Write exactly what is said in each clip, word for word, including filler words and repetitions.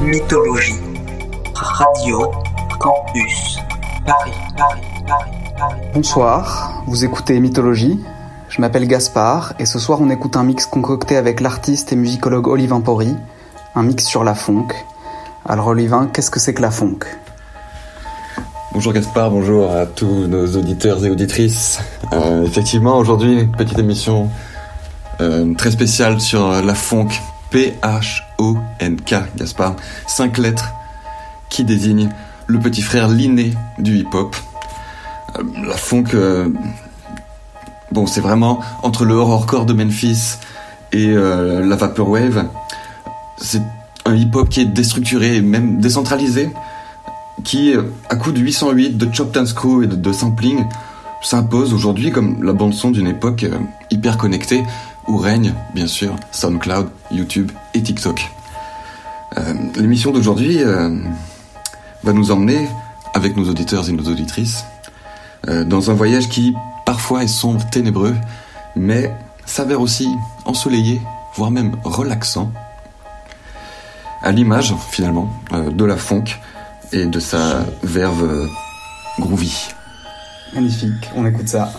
Mythologie. Radio Campus Paris, Paris, Paris, Paris. Bonsoir, vous écoutez Mythologie. Je m'appelle Gaspard et ce soir on écoute un mix concocté avec l'artiste et musicologue Olivin Pori, un mix sur la funk. Alors Olivin, qu'est-ce que c'est que la funk ? Bonjour Gaspard, bonjour à tous nos auditeurs et auditrices. Euh, effectivement, aujourd'hui, petite émission euh, très spéciale sur la funk, P H O N K, Gaspard. Cinq lettres qui désignent le petit frère l'inné du hip-hop. Euh, la funk, euh, bon, c'est vraiment entre le horrorcore de Memphis et euh, la vaporwave. C'est un hip-hop qui est déstructuré et même décentralisé, qui, à coup de huit cent huit, de chopped and screw et de, de sampling, s'impose aujourd'hui comme la bande-son d'une époque euh, hyper connectée, où règne, bien sûr, SoundCloud, YouTube et TikTok. Euh, l'émission d'aujourd'hui euh, va nous emmener, avec nos auditeurs et nos auditrices, euh, dans un voyage qui, parfois, est sombre, ténébreux, mais s'avère aussi ensoleillé, voire même relaxant, à l'image, finalement, euh, de la funk, et de sa verve groovy. Magnifique, on écoute ça.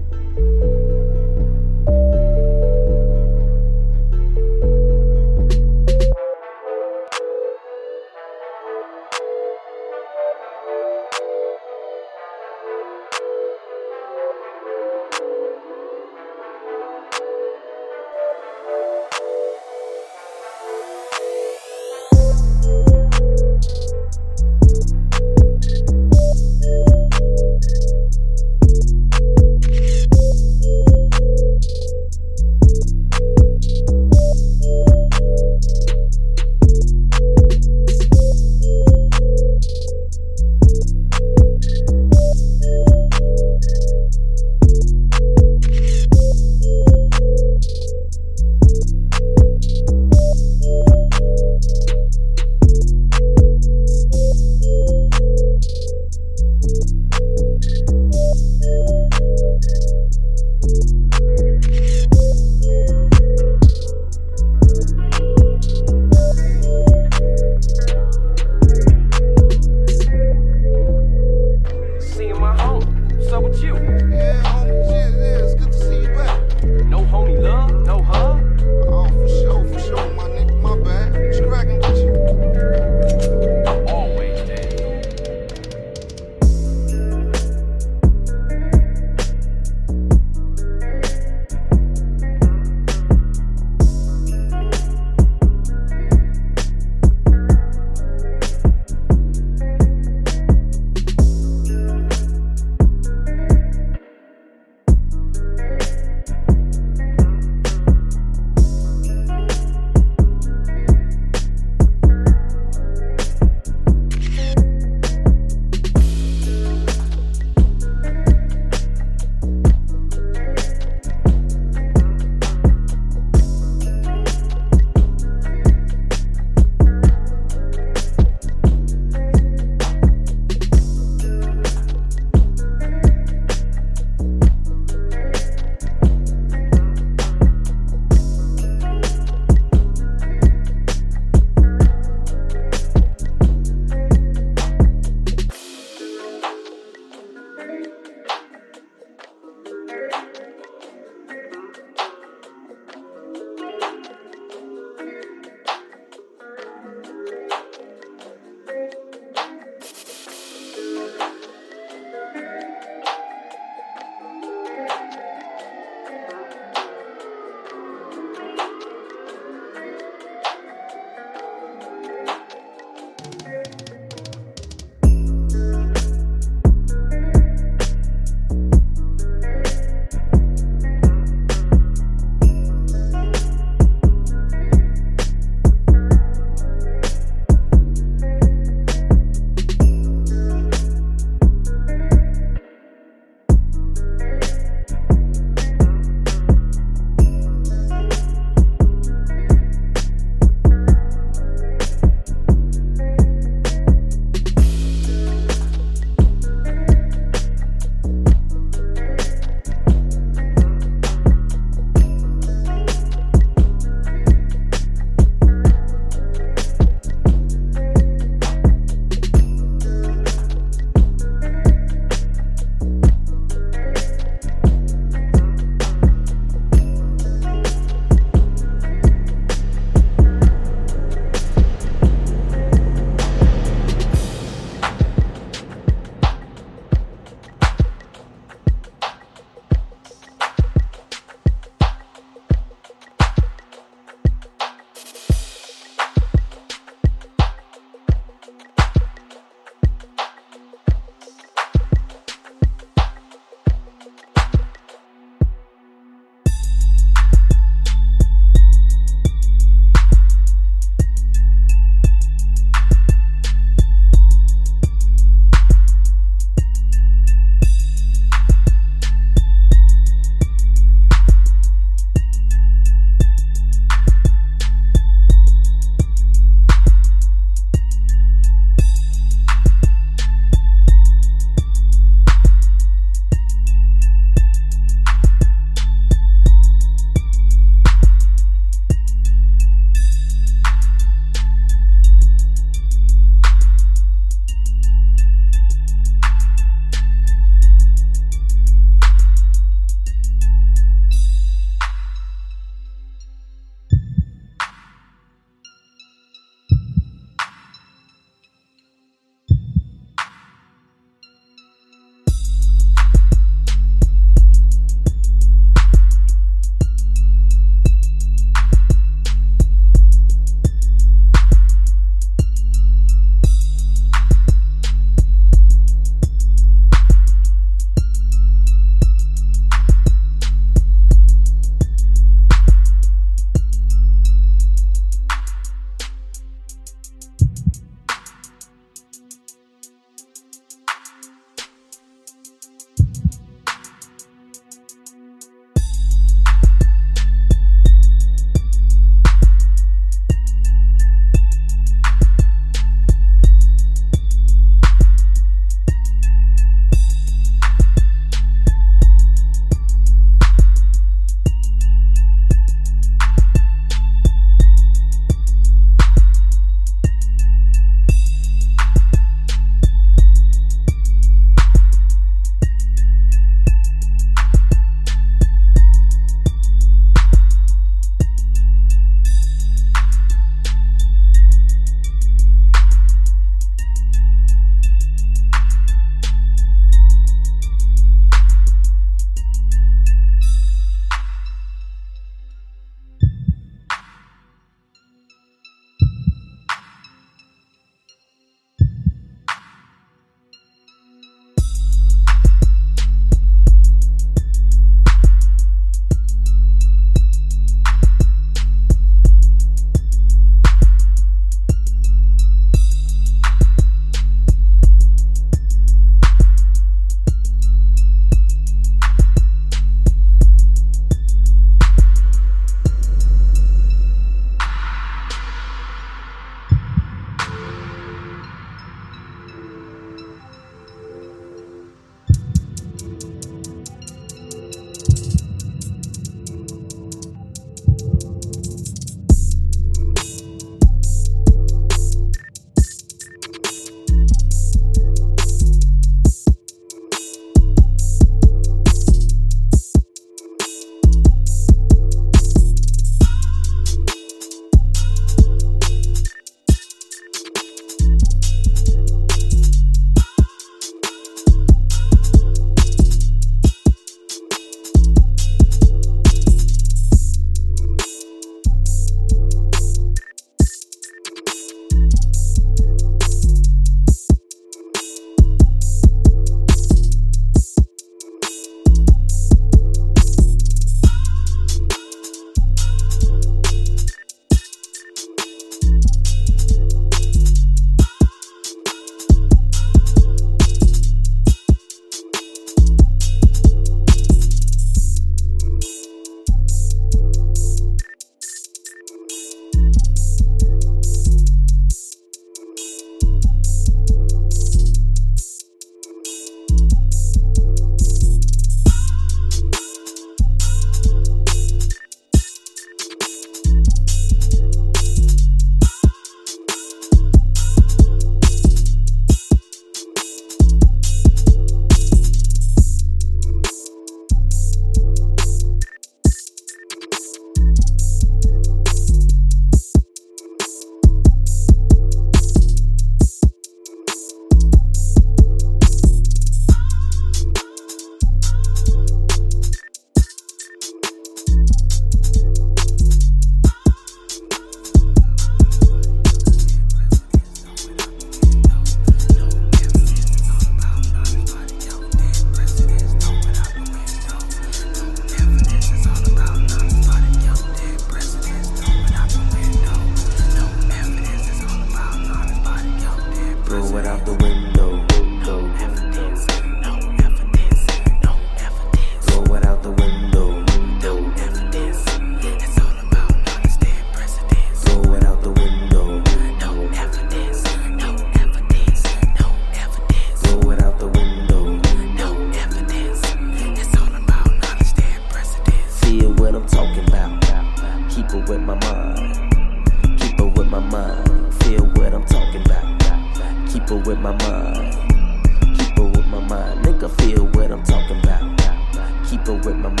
mind. Feel what I'm talking about. Keep it with my mind. Keep it with my mind. Nigga, feel what I'm talking about. Keep it with my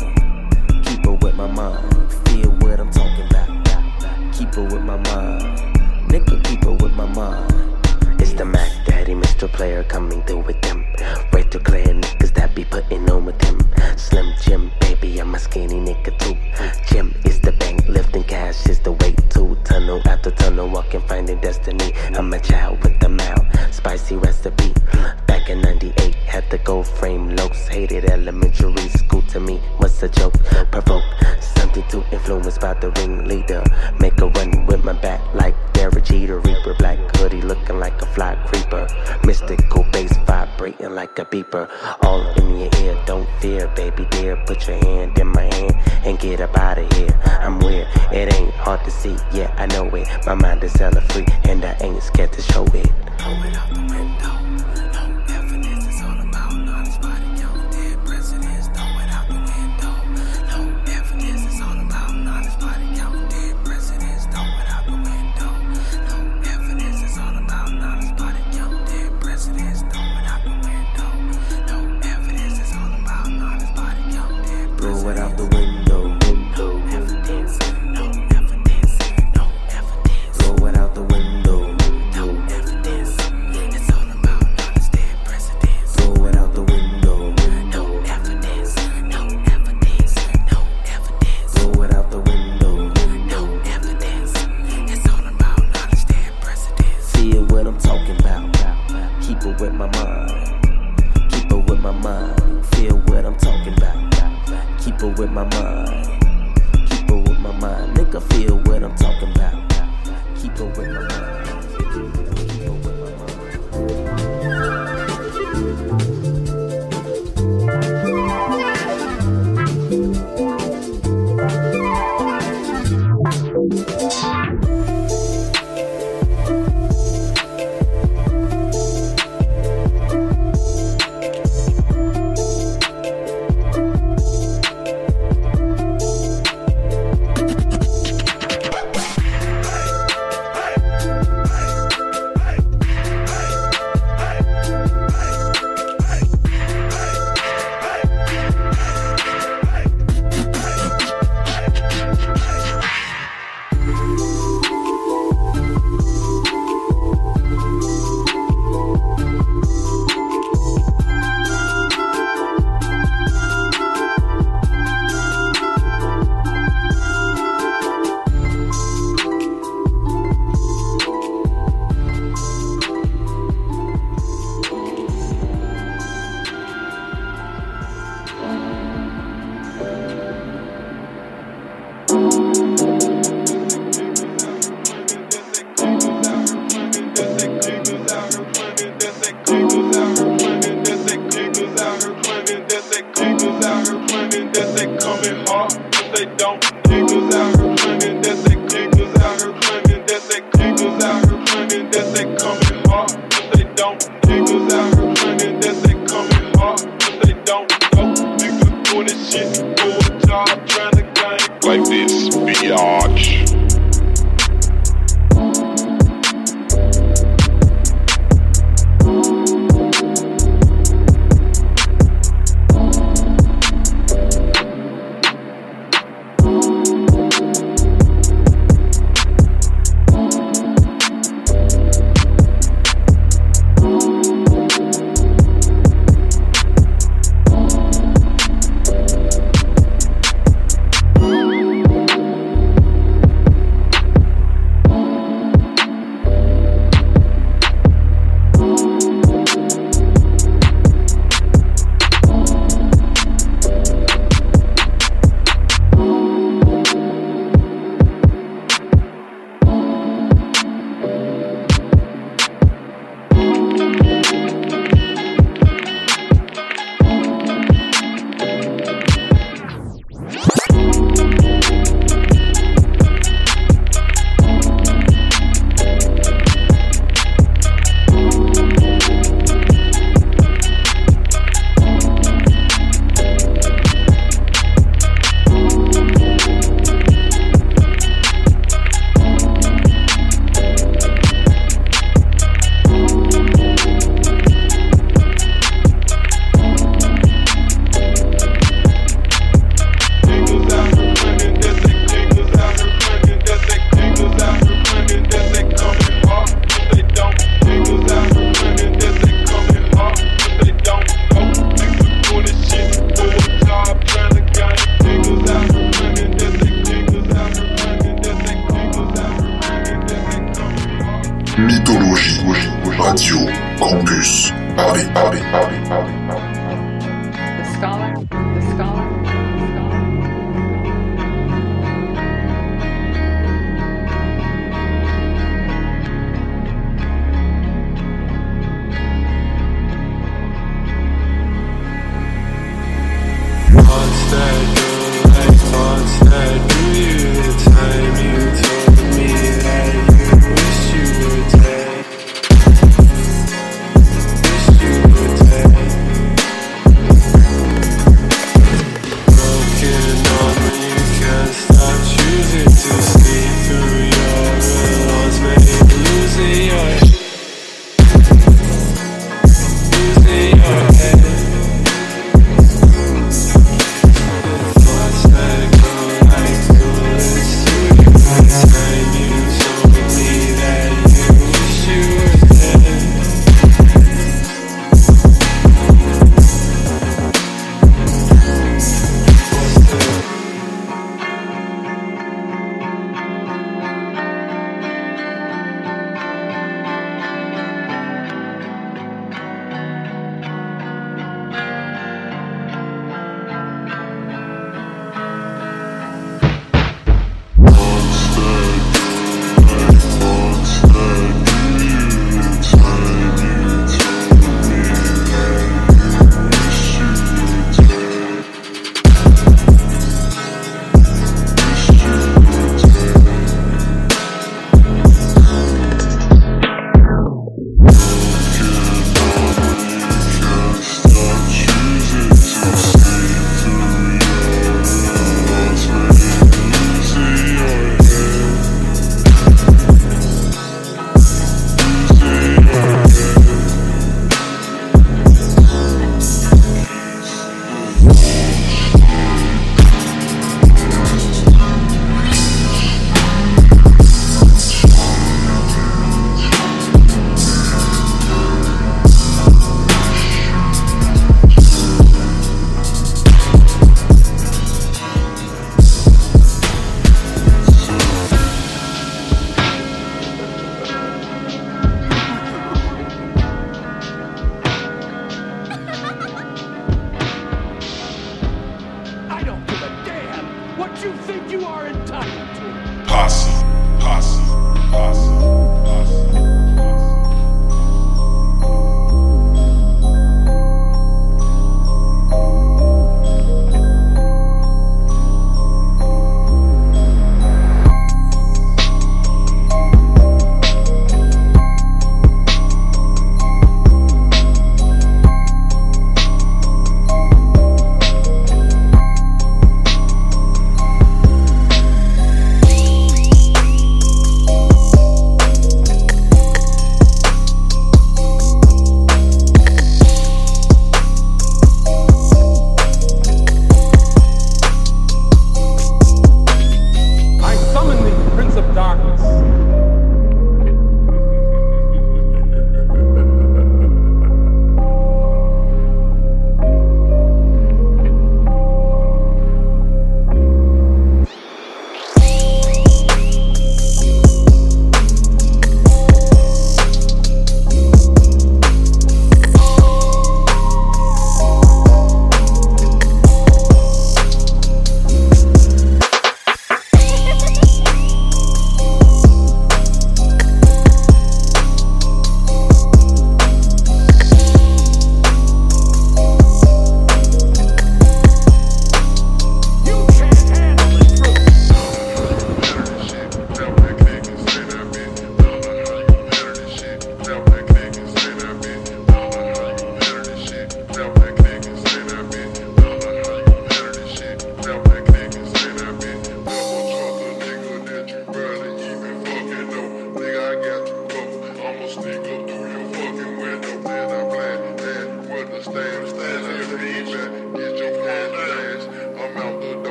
mind. Keep it with my mind. Feel what I'm talking about. Keep it with my mind. Nigga, keep it with my mind. It's the Mac Daddy, Mister Player coming through with them. Right to clear niggas that be putting on with him. Slim Jim, baby, I'm a skinny nigga too. Jim is the bank, lifting cash is the way to. Tunnel after tunnel, walking, finding destiny. I'm a child with a mouth, spicy recipe. Back in ninety-eight, had the gold frame looks. Hated elementary school, to me was a joke. Provoke something to influence by the ringleader. Make a run with my back like Derek Jeter. Reaper, black hoodie looking like a fly creeper. Mystical bass vibrating like a beeper. All in your ear, don't fear, baby dear. Put your hand in my hand and get up out of here. I'm weird, it ain't hard to see, yeah I know it. My mind is hella free and I ain't scared to show it. Throw it out the window. No evidence, it's all about honest body count dead presidents. Throw it out the window. No evidence, it's all about honest body count dead presidents. Throw it out the window. No evidence, it's all about honest body count dead presidents. Throw it out the window. No evidence, it's all about honest body count dead presidents. Throw it out the window. No evidence, no evidence, no evidence. Throw it out the window. No evidence, it's all about honest dead presidents. Throw it out the window. No evidence, no evidence, no evidence. Throw it out the window. No evidence, it's all about honest dead presidents. Feel what I'm talking about. Keep it with my mind. Keep it with my mind. Feel what I'm talking about. Keep it with my mind. Keep it with my mind. Nigga, feel what I'm talking about. Keep it with my mind. Keep it with my Mythologie, Radio Campus Paris, Paris, Paris, Paris. The scholar, the scholar, the scholar. Thoughts that go like thoughts that do you. The time you told me that you wish you were dead. Wish you were dead.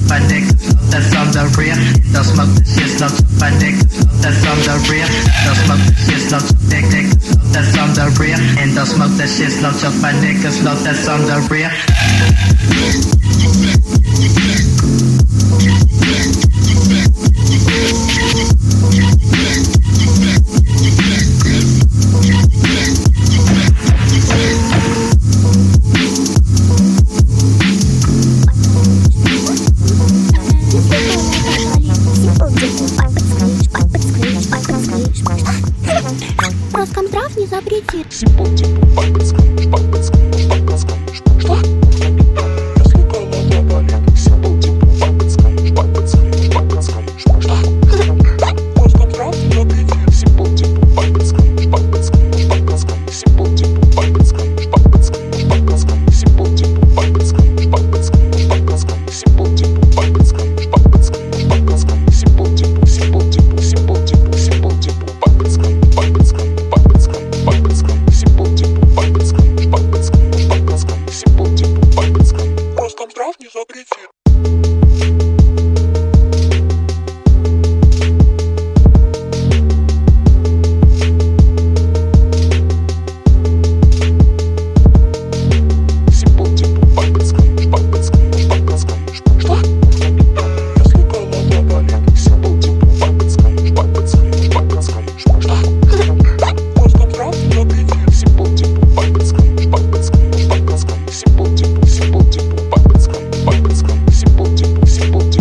by niggas, that's on the real. Don't smoke the shit, slow by niggas, that's on the real. Don't smoke the shit, slow dick niggas, that's on the real. And don't smoke that shit, slow by niggas, slow that's on the real. Роскомздрав не запретит. Роскомздрав не запретит. Simple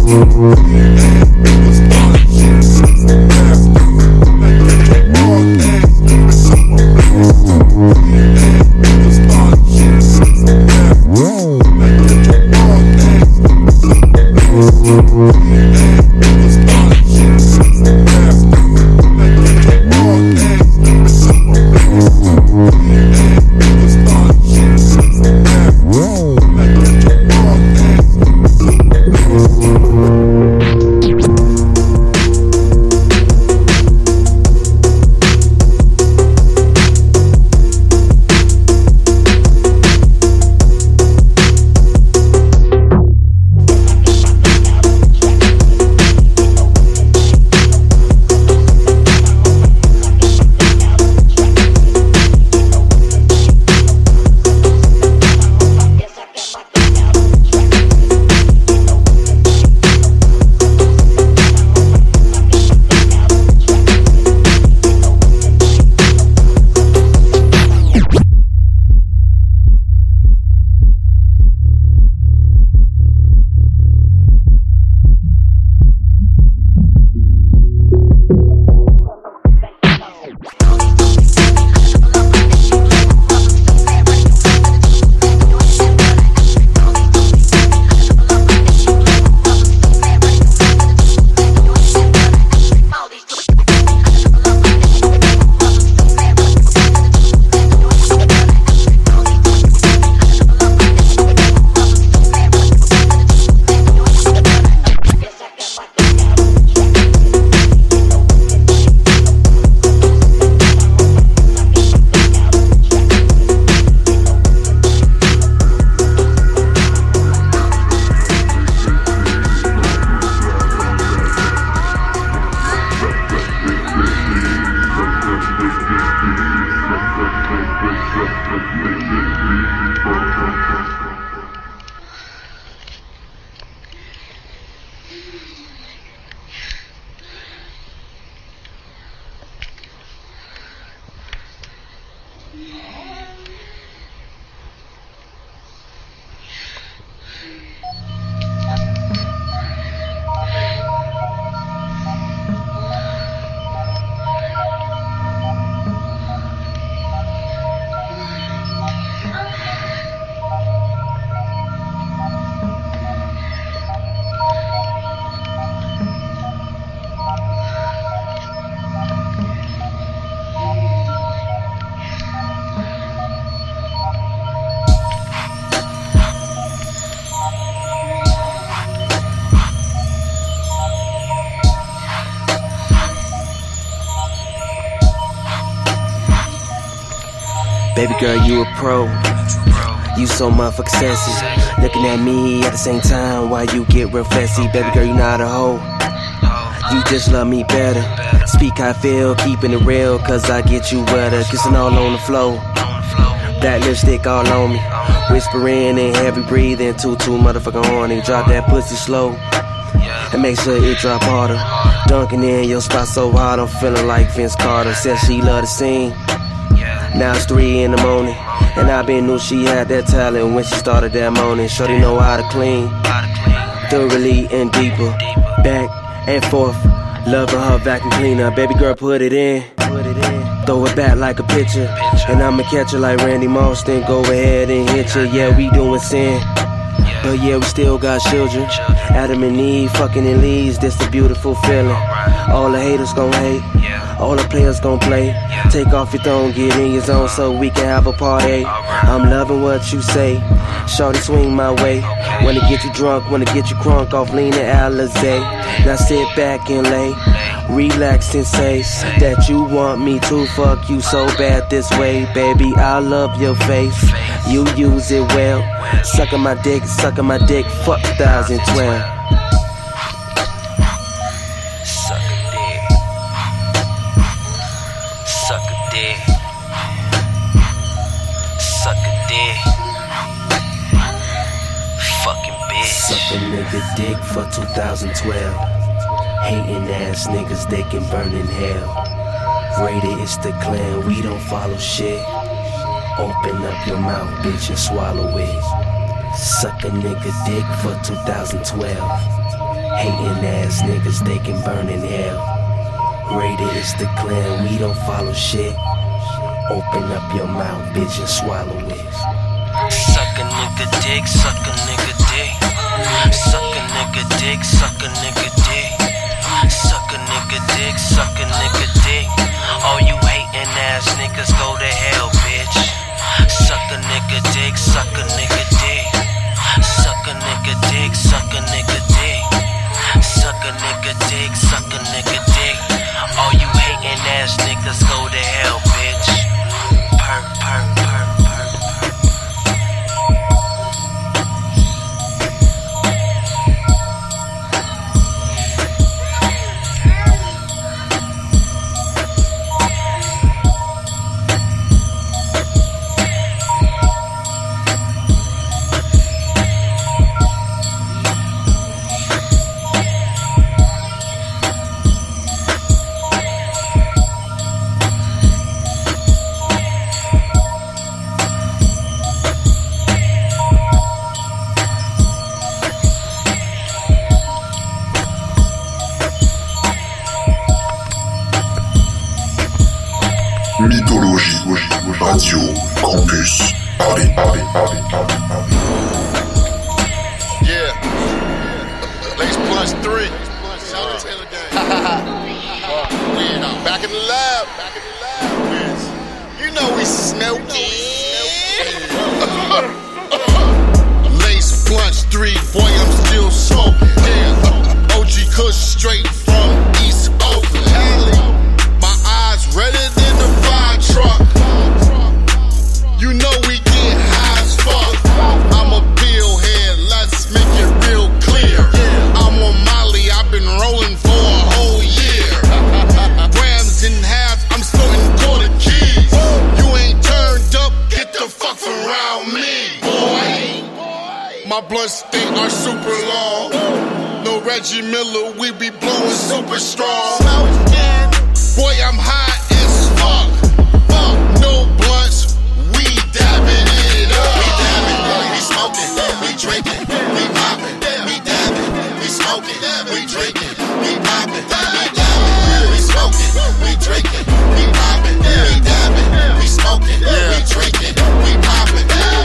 Baby girl, you a pro. You so motherfucking sassy. Looking at me at the same time while you get real fussy. Baby girl, you not a hoe. You just love me better. Speak how I feel, keeping it real, cause I get you wetter. Kissing all on the floor. Black lipstick all on me. Whispering and heavy breathing. Too, too motherfucking horny. Drop that pussy slow. And make sure it drop harder. Dunking in your spot so hard, I'm feeling like Vince Carter. Said she love the scene. Now it's three in the morning, and I been knew she had that talent when she started that morning. Shorty know how to clean, thoroughly and deeper, back and forth, loving her vacuum cleaner. Baby girl, put it in, throw it back like a pitcher, and I'ma catch her like Randy Moss. Then go ahead and hit you. Yeah, we doing sin, but yeah, we still got children. Adam and Eve, fucking in leaves. This a beautiful feeling. All the haters gon' hate. All the players gon' play. Take off your throne, get in your zone so we can have a party. I'm loving what you say. Shorty swing my way. Wanna get you drunk, wanna get you crunk off lean and Alizé. Now sit back and lay, relax and say that you want me to fuck you so bad this way. Baby, I love your face. You use it well. Sucking my dick, sucking my dick. Fuck twenty twelve. Suck a nigga dick for two thousand twelve. Hating ass niggas, they can burn in hell. Rated, it's the clan, we don't follow shit. Open up your mouth, bitch, and swallow it. Suck a nigga dick for two thousand twelve. Hating ass niggas, they can burn in hell. Rated is the clan, we don't follow shit. Open up your mouth, bitch, and swallow it. Suck a nigga dick, suck a nigga dick. Suck a nigga dick, suck a nigga dick. Suck a nigga dick, suck a nigga dick. All you hating ass niggas go to hell, bitch. Suck a nigga dick, suck a nigga dick. Suck a nigga dick, suck a nigga dick. Suck a nigga dick, suck a nigga dick. All you hating ass niggas go to hell, bitch. Perk, perk, perk, perk, perk. Mythologie, Radio, Campus, Paris, Paris, Paris, Paris, Paris. Yeah. Lace plus three. Back in the lab. Back in the lab. You know we smoking. Lace plus three. Boy, I'm still smoking. Yeah. O G Kush straight from East Oakland. My eyes redder than the fire truck. You know we get high as fuck. I'm a pill head, let's make it real clear. I'm on Molly, I've been rolling for a whole year. Grams in half, I'm snorting quarter keys. You ain't turned up, get the fuck from around me, boy. My blood stink are super long. No Reggie Miller, we be blowing super strong. Boy, I'm high as fuck. Fuck, no blunts, we dabbing it up. We dabbing, we smoking, we drinking, we popping, we dabbing, we smoking, we drinking, we popping, we dabbing, we smoking, we drinking, we popping, we dabbing, we smoking, we drinking, we popping.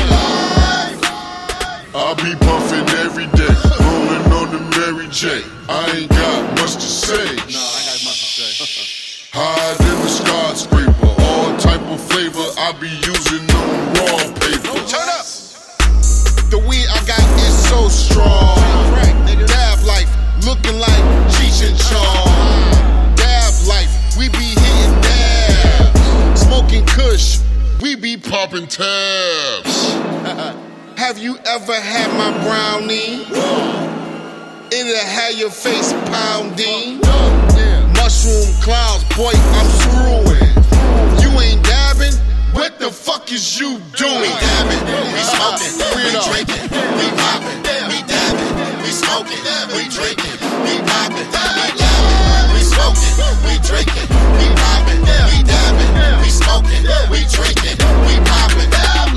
I be puffing every day, rolling on the Mary J. I ain't got much to say. No, I got much to say. Hide in the skyscraper, all type of flavor. I be using no raw paper. Turn up. The weed I got is so strong. Dab life, looking like Cheech and Chong. Dab life, we be hitting dabs. Smoking Kush, we be popping tabs. Have you ever had my brownie? It'll have your face pounding. Mushroom clouds, boy, I'm screwing. You ain't dabbing? What the fuck is you doing? We dabbing, we smoking, we drinking, we popping, we dabbing, we smoking, we drinking, we popping, we dabbing, we smoking, we drinking, we popping, we dabbing, we smoking, we drinking, we popping.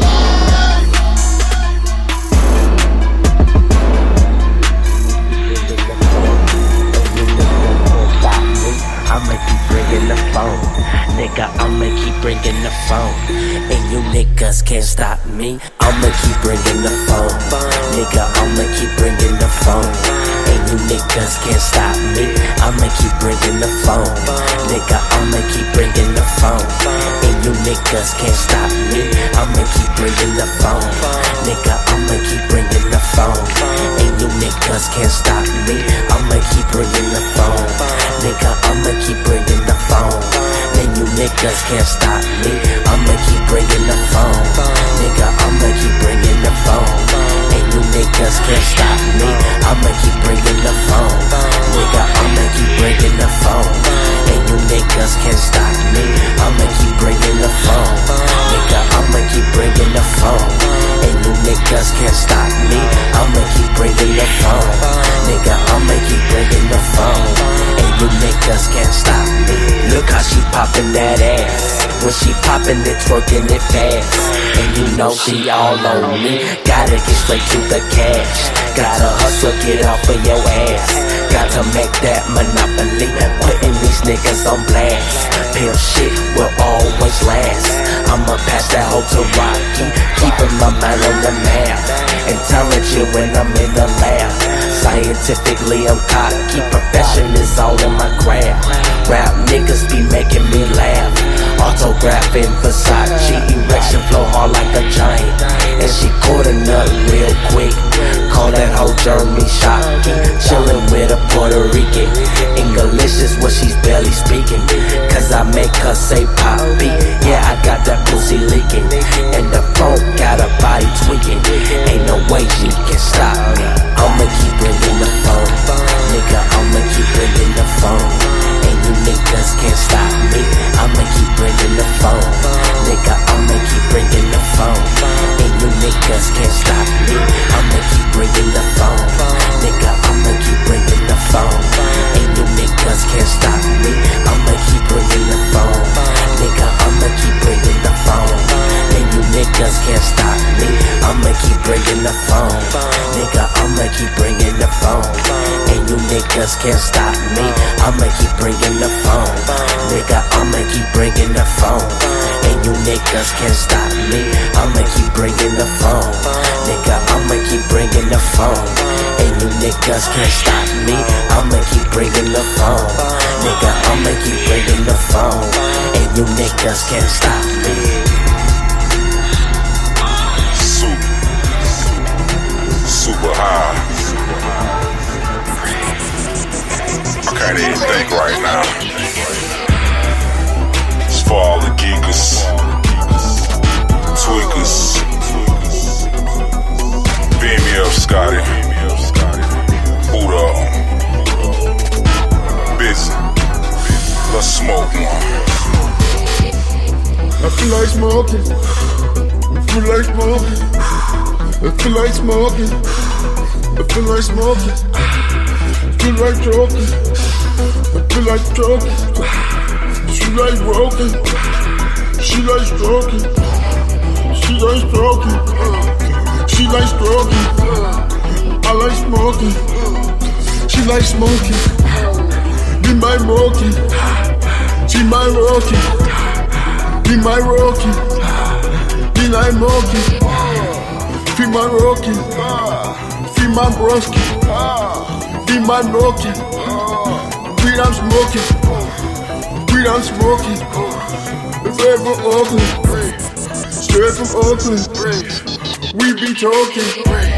I'ma keep bringing the phone, nigga, I'ma keep bringing the phone. And you niggas can't stop me. I'ma keep bringing the phone, nigga, I'ma keep bringing the phone. And you niggas can't stop me. I'ma keep bringing the phone, nigga, I'ma keep bringing the phone. And you niggas can't stop me. I'ma keep bringing the phone, nigga, I'ma keep bringing the phone. And you niggas can't stop me. I'ma keep bringing the phone, nigga, I'ma keep bringing the phone. And you niggas can't stop me. I'ma keep bringing the phone, nigga, I'ma keep bringing the phone. And you niggas can't stop me. I'ma keep bringing the phone, nigga, I'ma keep bringing the phone. And you niggas can't stop me. I'ma keep bringing the phone, nigga, I'ma keep bringing the phone. And you niggas can't stop me. I'ma keep bringing the phone, nigga, I'ma keep bringing the phone. And you niggas can't stop me. Look how she poppin' that ass. When she poppin' it, twerking it fast. And you know she all on me. Gotta get straight to the cash. Gotta hustle, get off of your ass. got to make that monopoly, putting these niggas on blast. Pimp shit will always last. I'ma pass that hoe to Rocky, keeping my mind on the map. Intelligent when I'm in the lab. Scientifically I'm cocky, profession is all in my craft. Rap niggas be making me laugh. Autographing Versace, erection flow hard like a giant. And she caught a nut real quick. Call that hoe Jeremy Shockey. Chillin' with a Puerto Rican. English is what she's barely speaking, cause I make her say poppy. Yeah, I got that pussy leaking, and the phone got a body tweaking. Ain't no way she can stop me. I'ma keep bringing the phone, nigga, I'ma keep bringing the phone. And you niggas can't stop me. I'ma keep bringing the phone, nigga, I'ma keep bringing the phone. And you niggas can't stop me. I'ma keep bringing the phone, nigga, I'ma keep bringing the phone. And you niggas can't stop me. I'ma keep bringing the phone, nigga, I'ma keep bringing the phone. And you niggas can't stop me. I'ma keep bringing the phone, nigga, I'ma keep bringing the phone. And you niggas can't stop me. I'ma keep bringing the phone, nigga, I'ma keep bringing the phone. And you niggas can't stop me. I'ma keep bringing the phone, nigga, I'ma keep bringing the phone. And you niggas can't stop me. I'ma keep bringing the phone, nigga, I'ma keep bringing the phone. And you niggas can't stop me. Super, super high. I can't even think right now. It's for all the geekers, tweakers. Beam me up, Scotty. Boot up. Busy. Let's smoke one. I feel like smoking. I feel like smoking. I feel like smoking. I feel like smoking. I feel like choking. I feel like choking. She like broken. She like stroking. She like stroking. She like stroking. I like smoking. She like smoking. Be my rocking. She my rocking. Be my rocking. Be my rocking. Be my rocking. Be my broski. Be my rocking. Weed I'm smoking. Weed I'm smoking. Straight from Oakland. Straight from Oakland. We be talking.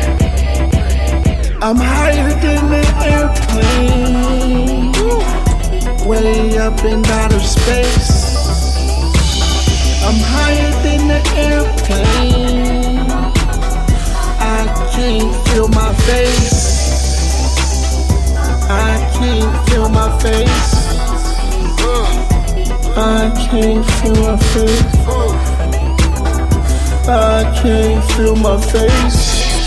I'm higher than the airplane, way up in outer space. I'm higher than the airplane. I can't feel my face. I can't feel my face. I can't feel my face. I can't feel my face.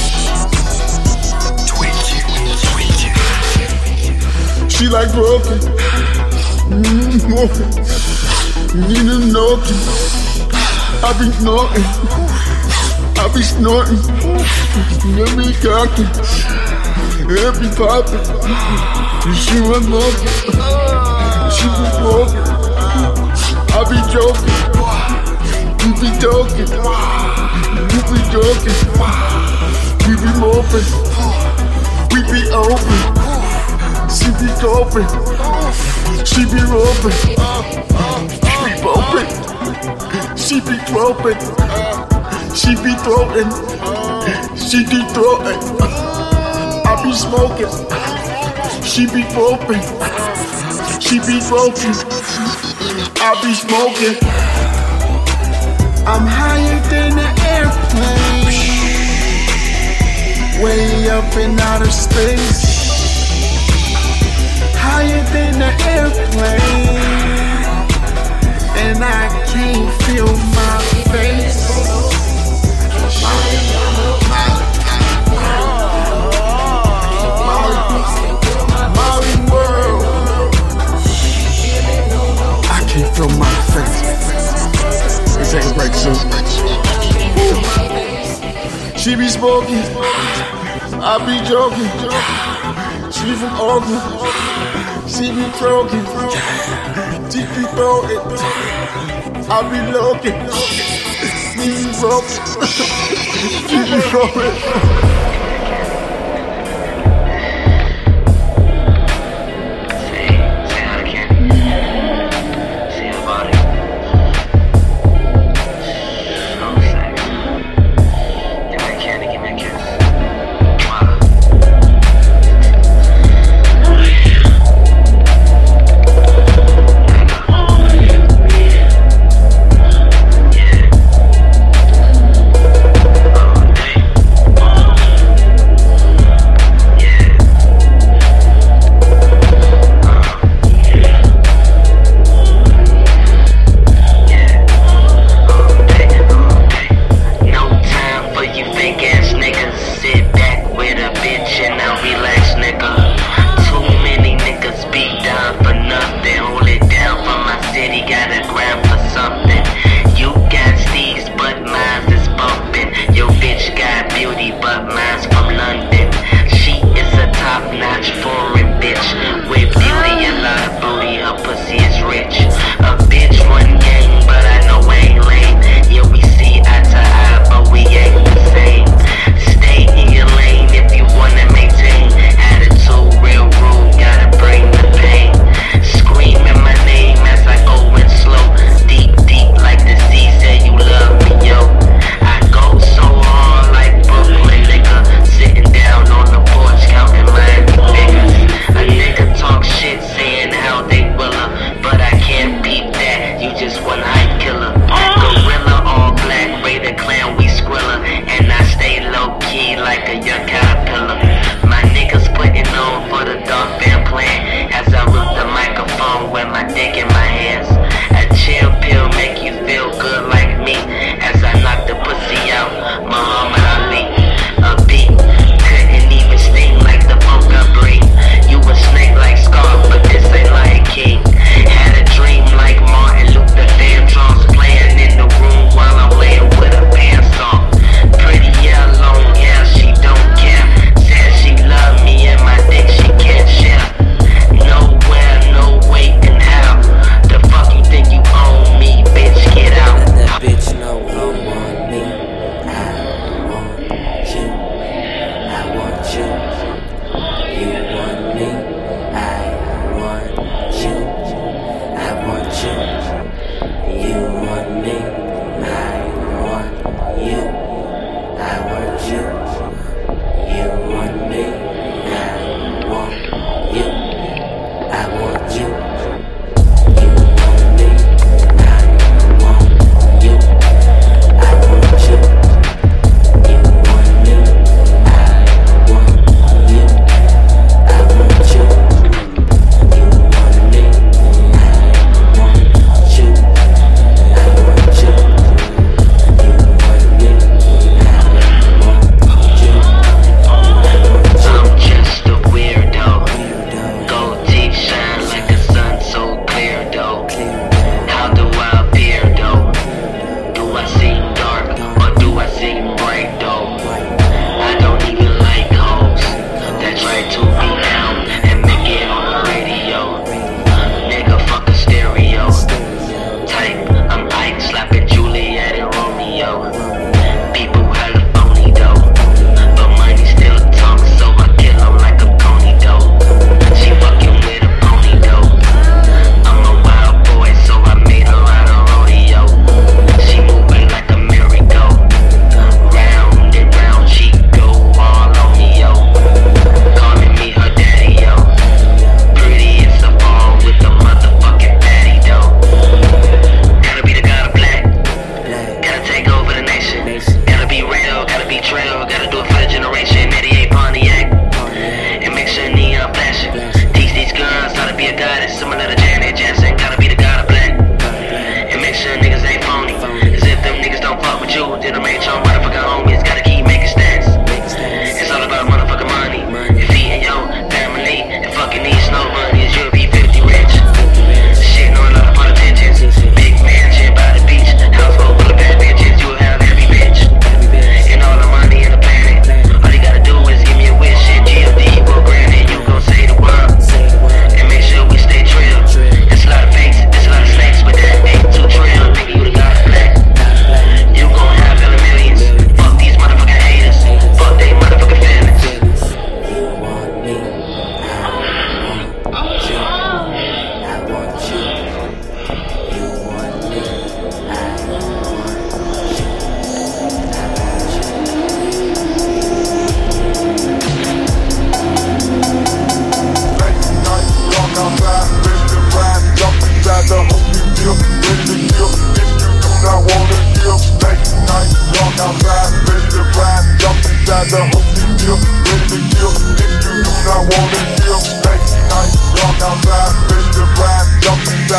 She like broken. Mm-hmm. Need a knocking. I be knocking. I be snorting. Let me cocking. Let me popping. She was knocking. She be broken. I be joking. You be talking. You be joking. We be moping. We be open. She be open. She be roping. She be bumping. She be groping. She be throating. She be throating. I be smoking. She be groping. She be groping. I be smoking. I'm higher than an airplane, way up in outer space. Higher than an airplane, and I can't feel my face. Molly world. I can't feel my face. This ain't right, so. She be smoking, I be joking. She She from Oakland. She be broken. She be broken. I be looking. She be broken. She be broken.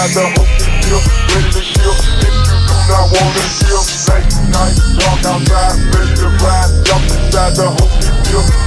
inside the Hookie Bill, ready to kill. If you do not wanna kill, late night, walk outside, ready to ride, jump inside the Hookie Bill.